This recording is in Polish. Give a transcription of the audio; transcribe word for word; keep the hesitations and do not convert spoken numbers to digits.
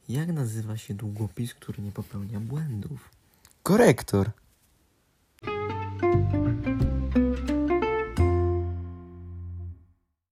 Jak nazywa się długopis, który nie popełnia błędów? Korektor.